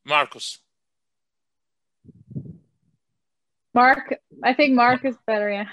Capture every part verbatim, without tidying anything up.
Marcus. Mark, I think Mark is better, yeah.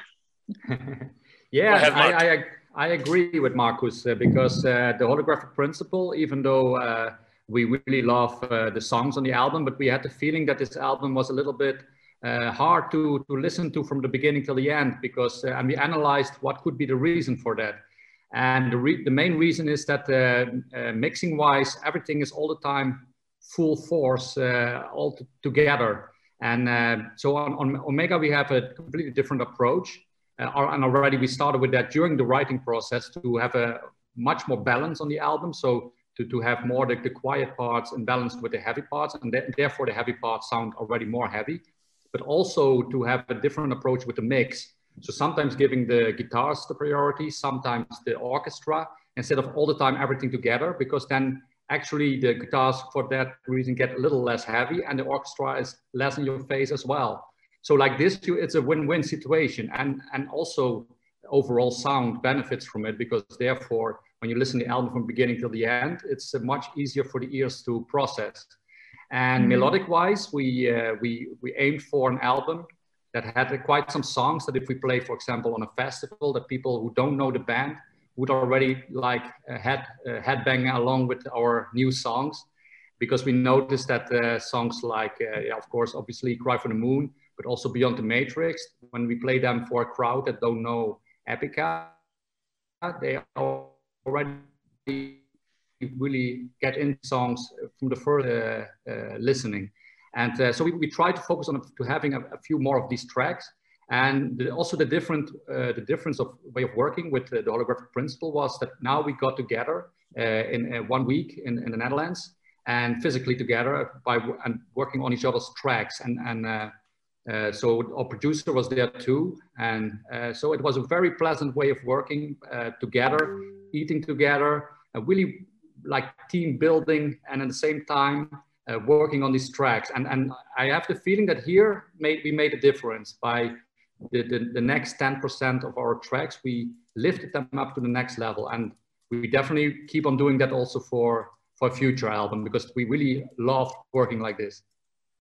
Yeah, ahead, I, I, I agree with Marcus uh, because uh, the holographic principle, even though uh, we really love uh, the songs on the album, but we had the feeling that this album was a little bit uh, hard to, to listen to from the beginning till the end, because uh, and we analyzed what could be the reason for that. And the, re the main reason is that uh, uh, mixing wise, everything is all the time full force uh, all together. And uh, so on, on Omega, we have a completely different approach. Uh, and already we started with that during the writing process to have a much more balance on the album. So to, to have more the, the quiet parts in balance with the heavy parts, and th therefore the heavy parts sound already more heavy, but also to have a different approach with the mix. So sometimes giving the guitars the priority, sometimes the orchestra, instead of all the time everything together, because then actually the guitars for that reason get a little less heavy and the orchestra is less in your face as well. So like this, it's a win-win situation, and, and also overall sound benefits from it, because therefore, when you listen to the album from beginning till the end, it's uh, much easier for the ears to process. And mm-hmm. melodic-wise, we, uh, we, we aimed for an album that had uh, quite some songs that if we play, for example, on a festival, that people who don't know the band would already like uh, head, uh, headbang along with our new songs, because we noticed that uh, songs like, uh, yeah, of course, obviously Cry for the Moon, but also Beyond the Matrix, when we play them for a crowd that don't know Epica, they already really get in songs from the first uh, uh, listening. And uh, so we, we try to focus on to having a, a few more of these tracks. And the, also the different, uh, the difference of way of working with the, the holographic principle was that now we got together uh, in uh, one week in, in the Netherlands and physically together by and working on each other's tracks. And, and uh, uh, so our producer was there too. And uh, so it was a very pleasant way of working uh, together, eating together, uh, really like team building, and at the same time, uh, working on these tracks. And, and I have the feeling that here made, we made a difference by the, the, the next ten percent of our tracks, we lifted them up to the next level. And we definitely keep on doing that also for, for a future album, because we really love working like this.